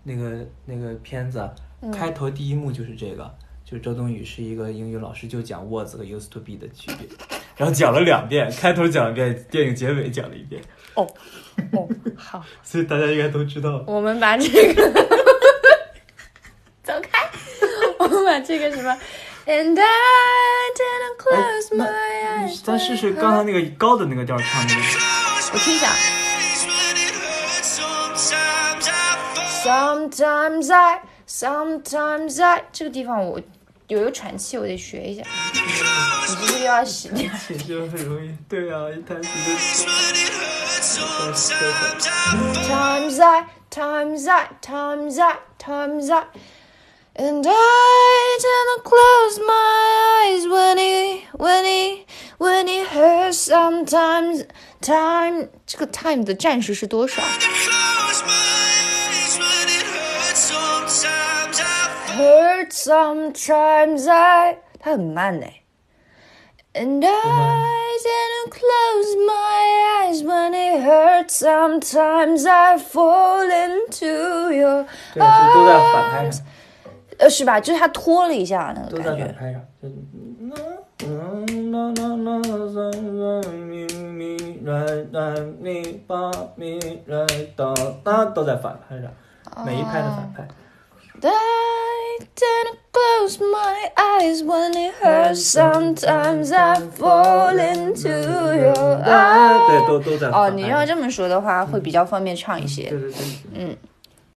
那个片子，开头第一幕就是这个，就是周冬雨是一个英语老师，就讲 was 和 used to be 的区别，然后讲了2遍，开头讲了1遍，电影结尾讲了1遍。 哦，好， 所以大家应该都知道。 我们把这个走开，我们把这个什么 And I didn't close my eyes。 咱试试刚才那个高的那个调唱那个， 我听一下。Sometimes I 这个地方我有一个喘气，我得学一下。你这个要洗掉。 其实很容易，对啊，一弹琴就。 Times I And I didn't close my eyes when he hurt sometimes time 这个 time 的战士是多少 Hurt sometimes I 它很慢耶 And I didn't close my eyes when it hurts. Sometimes I fall into your arms. 对，这都在反拍上。 是吧？就是他拖了一下那个感觉。 都在反拍上。都在反拍上，每一拍的反拍。 I didn't close my eyes when it hurts. Sometimes I fall into your arms. 对，都在反拍。 哦，你要这么说的话，会比较方便唱一些。 对。